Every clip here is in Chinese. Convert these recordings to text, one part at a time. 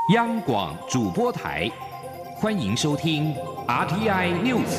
央广主播台，欢迎收听 RTI News。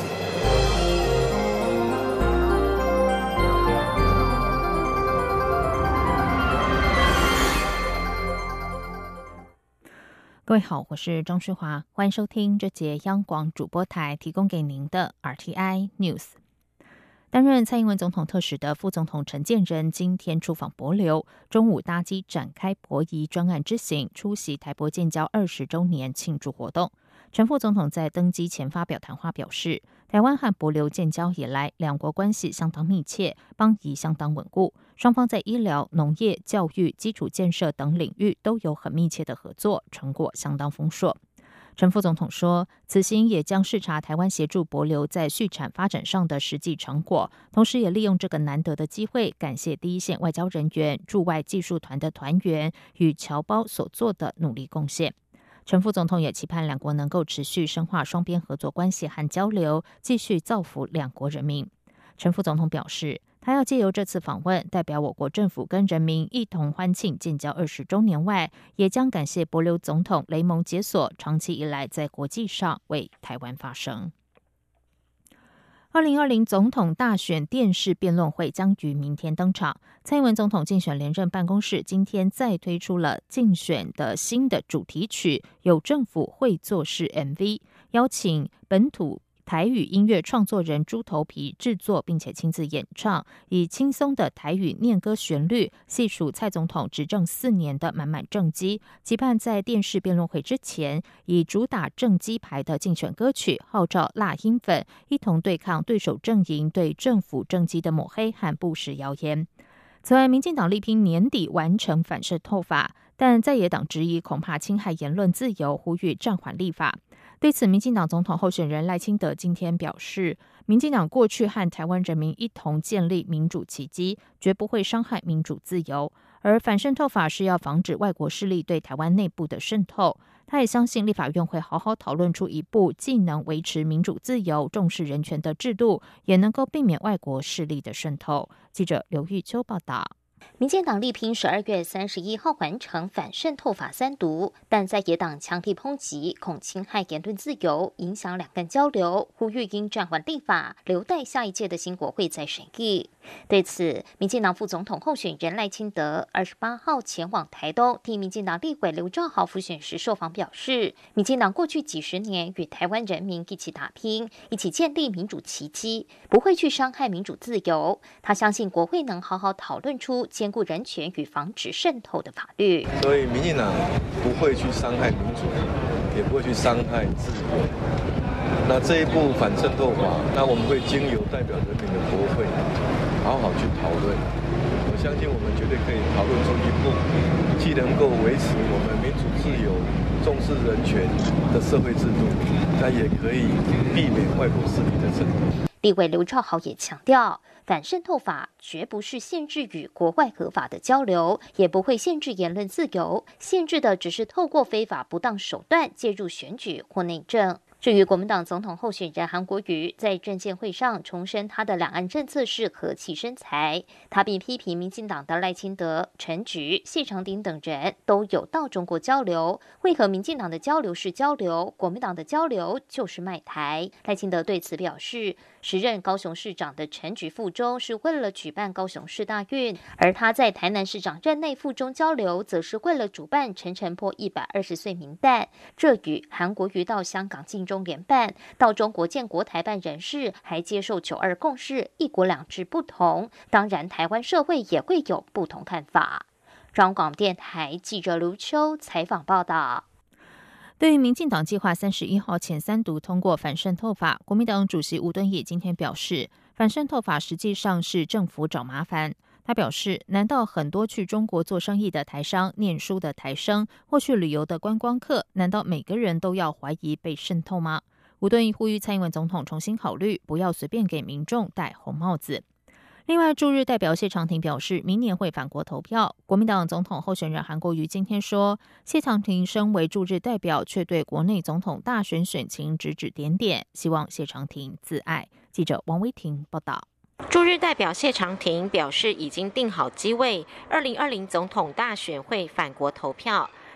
各位好，我是张诗华，欢迎收听这节央广主播台提供给您的 RTI News。担任蔡英文总统特使的副总统陈建仁今天出访帛琉，中午搭机展开帛仪专案之行，出席台帛建交20周年庆祝活动。陈副总统在登机前发表谈话表示，台湾和帛琉建交以来，两国关系相当密切，邦谊相当稳固，双方在医疗、农业、教育、基础建设等领域都有很密切的合作，成果相当丰硕。陈副总统说，此行也将视察台湾协助帛琉在畜产发展上的实际成果，同时也利用这个难得的机会，感谢第一线外交人员、驻外技术团的团员与侨胞所做的努力贡献。陈副总统也期盼两国能够持续深化双边合作关系和交流，继续造福两国人民。陈副总统表示，他要借由这次访问，代表我国政府跟人民一同欢庆建交20周年外，也将感谢帛琉总统雷蒙解锁长期以来在国际上为台湾发声。2020总统大选电视辩论会将于明天登场。蔡英文总统竞选连任办公室今天再推出了竞选的新的主题曲，有政府会做事 MV， 邀请本土台语音乐创作人猪头皮制作并且亲自演唱，以轻松的台语念歌旋律，细数蔡总统执政4年的满满政绩，期盼在电视辩论会之前，以主打政绩牌的竞选歌曲号召辣音粉一同对抗对手阵营对政府政绩的抹黑和不实谣言。此外，民进党力拼年底完成反渗透法，但在野党质疑恐怕侵害言论自由，呼吁暂缓立法。对此，民进党总统候选人赖清德今天表示，民进党过去和台湾人民一同建立民主奇迹，绝不会伤害民主自由，而反渗透法是要防止外国势力对台湾内部的渗透。他也相信立法院会好好讨论出一部既能维持民主自由、重视人权的制度，也能够避免外国势力的渗透。记者刘玉秋报道。 民进党力拼12月31号完成反渗透法3读，但在野党强力抨击，恐侵害言论自由，影响两岸交流，呼吁应暂缓立法，留待下一届的新国会再审议。对此，民进党副总统候选人赖清德28号前往台东替民进党立委刘兆豪辅选时受访表示，民进党过去几十年与台湾人民一起打拼，一起建立民主奇迹，不会去伤害民主自由。他相信国会能好好讨论出兼顾人权与防止渗透的法律。 所以民进党不会去伤害民主，也不会去伤害自由。那这一部反渗透法，那我们会经由代表人民的国会好好去讨论。我相信我们绝对可以讨论出一部既能够维持我们民主自由、重视人权的社会制度，那也可以避免外国势力的渗透。 立委刘兆豪也强调，反渗透法绝不是限制与国外合法的交流，也不会限制言论自由，限制的只是透过非法不当手段介入选举或内政。至于国民党总统候选人韩国瑜在政见会上重申他的两岸政策是和气生财，他并批评民进党的赖清德、陈菊、谢长廷等人都有到中国交流，为何民进党的交流是交流，国民党的交流就是卖台？赖清德对此表示，时任高雄市长的陈菊附中是为了举办高雄市大运，而他在台南市长任内附中交流，则是为了主办陈澄波120岁冥诞，这与韩国瑜到香港尽中联办，到中国建国台办人士，还接受9·2共识、一国两制不同，当然台湾社会也会有不同看法。中广电台记者刘秋采访报道。 对于民进党计划31号前3读通过反渗透法，国民党主席吴敦义今天表示，反渗透法实际上是政府找麻烦。他表示，难道很多去中国做生意的台商、念书的台生或去旅游的观光客，难道每个人都要怀疑被渗透吗？吴敦义呼吁蔡英文总统重新考虑，不要随便给民众戴红帽子。另外，驻日代表谢长廷表示，明年会返国投票。国民党总统候选人韩国瑜今天说，谢长廷身为驻日代表，却对国内总统大选选情指指点点，希望谢长廷自爱。记者王威婷报道。 驻日代表谢长廷表示，已经定好机位，2020总统大选会返国投票。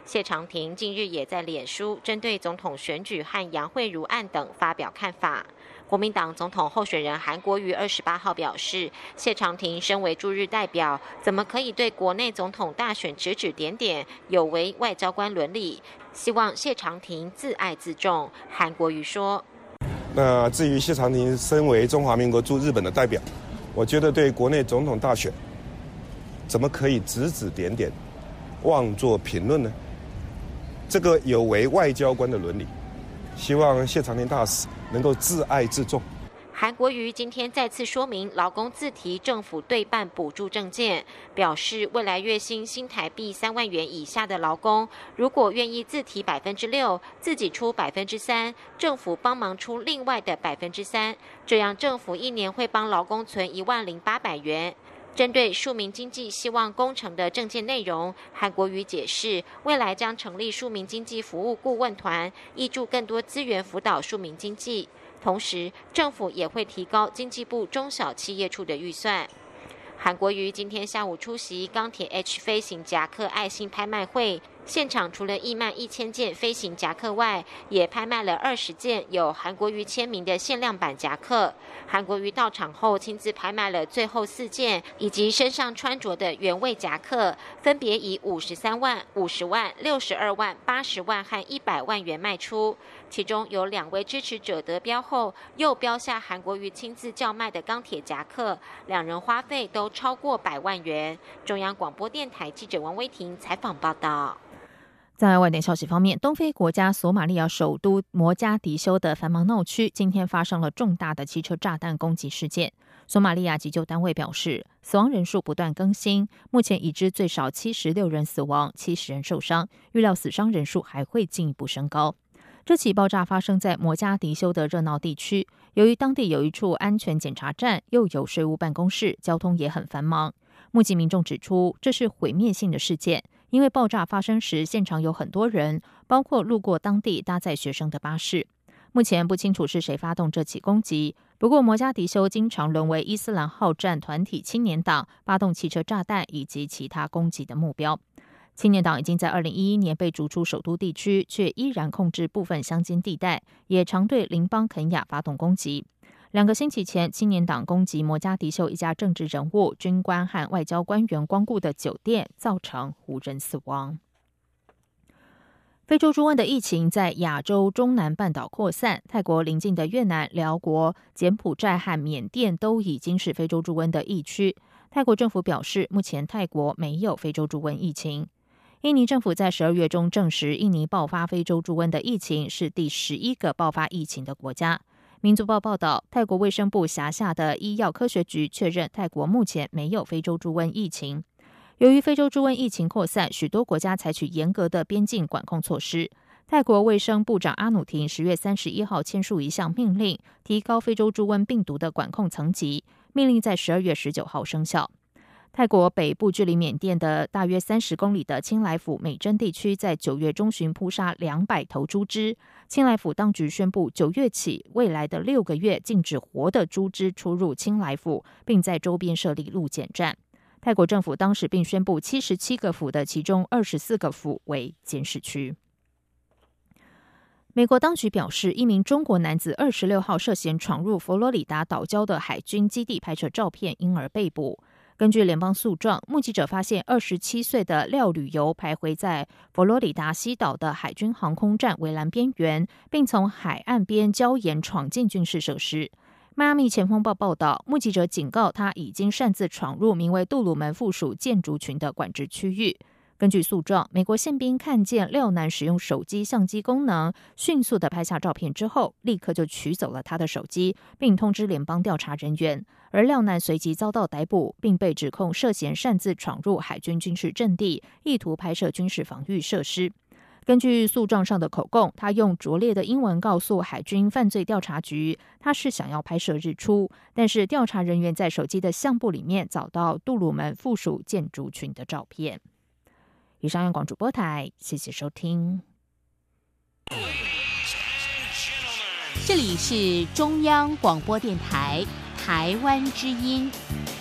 谢长廷近日也在脸书针对总统选举和杨惠如案等发表看法。国民党总统候选人韩国瑜28号表示，谢长廷身为驻日代表，怎么可以对国内总统大选指指点点，有违外交官伦理？希望谢长廷自爱自重。韩国瑜说：“ 那至于谢长廷身为中华民国驻日本的代表，我觉得对国内总统大选，怎么可以指指点点，妄作评论呢？这个有违外交官的伦理。希望谢长廷大使能够自爱自重。” 韩国瑜今天再次说明劳工自提政府对半补助政见，表示未来月薪新台币3万元以下的劳工，如果愿意自提6%，自己出3%，政府帮忙出另外的3%，这样政府一年会帮劳工存10800元。针对庶民经济希望工程的政见内容，韩国瑜解释，未来将成立庶民经济服务顾问团，挹注更多资源辅导庶民经济。同时，政府也会提高经济部中小企业处的预算。韩国瑜今天下午出席钢铁 H 飞行夹克爱心拍卖会，现场除了义卖1000件飞行夹克外，也拍卖了20件有韩国瑜签名的限量版夹克。韩国瑜到场后亲自拍卖了最后4件，以及身上穿着的原味夹克，分别以53万、50万、62万、80万和100万元卖出。其中有2位支持者得标后，又标下韩国瑜亲自叫卖的钢铁夹克，2人花费都超过100万元。中央广播电台记者王威婷采访报道。 在外电消息方面，东非国家索马利亚首都摩加迪休的繁忙闹区今天发生了重大的汽车炸弹攻击事件。索马利亚急救单位表示，死亡人数不断更新，目前已知最少76人死亡，70人受伤，预料死伤人数还会进一步升高。这起爆炸发生在摩加迪休的热闹地区，由于当地有一处安全检查站，又有税务办公室，交通也很繁忙。目击民众指出，这是毁灭性的事件，因为爆炸发生时现场有很多人，包括路过当地搭载学生的巴士。目前不清楚是谁发动这起攻击，不过摩加迪休经常沦为伊斯兰好战团体青年党发动汽车炸弹以及其他攻击的目标。青年党已经在2011年被逐出首都地区，却依然控制部分乡间地带，也常对邻邦肯亚发动攻击。2个星期前，青年党攻击摩加迪休一家政治人物、军官和外交官员光顾的酒店，造成5人死亡。非洲猪瘟的疫情在亚洲中南半岛扩散，泰国邻近的越南、辽国、柬埔寨和缅甸都已经是非洲猪瘟的疫区。泰国政府表示，目前泰国没有非洲猪瘟疫情。印尼政府在12月中证实，印尼爆发非洲猪瘟的疫情是第11个爆发疫情的国家。民族报报道，泰国卫生部辖下的医药科学局确认，泰国目前没有非洲猪瘟疫情。由于非洲猪瘟疫情扩散，许多国家采取严格的边境管控措施。泰国卫生部长阿努廷10月31号签署一项命令，提高非洲猪瘟病毒的管控层级。命令在12月19号生效。泰国北部距离缅甸的大约30公里的清莱府美珍地区，在9月中旬扑杀200头猪只。清莱府当局宣布，9月起未来的6个月禁止活的猪只出入清莱府，并在周边设立路检站。泰国政府当时并宣布77个府的其中24个府为监视区。美国当局表示，一名中国男子26号涉嫌闯入佛罗里达岛礁的海军基地拍摄照片，因而被捕。根据联邦诉状，目击者发现27岁的廖旅游徘徊在佛罗里达西岛的海军航空站围栏边缘，并从海岸边礁岩闯进军事设施。迈阿密前锋报报道，目击者警告他已经擅自闯入名为杜鲁门附属建筑群的管制区域。根据诉状，美国宪兵看见廖男使用手机相机功能，迅速地拍下照片之后，立刻就取走了他的手机，并通知联邦调查人员。而廖男随即遭到逮捕，并被指控涉嫌擅自闯入海军军事阵地，意图拍摄军事防御设施。根据诉状上的口供，他用拙劣的英文告诉海军犯罪调查局，他是想要拍摄日出，但是调查人员在手机的相簿里面找到杜鲁门附属建筑群的照片。以上央广主播台，谢谢收听。 这里是中央广播电台台湾之音。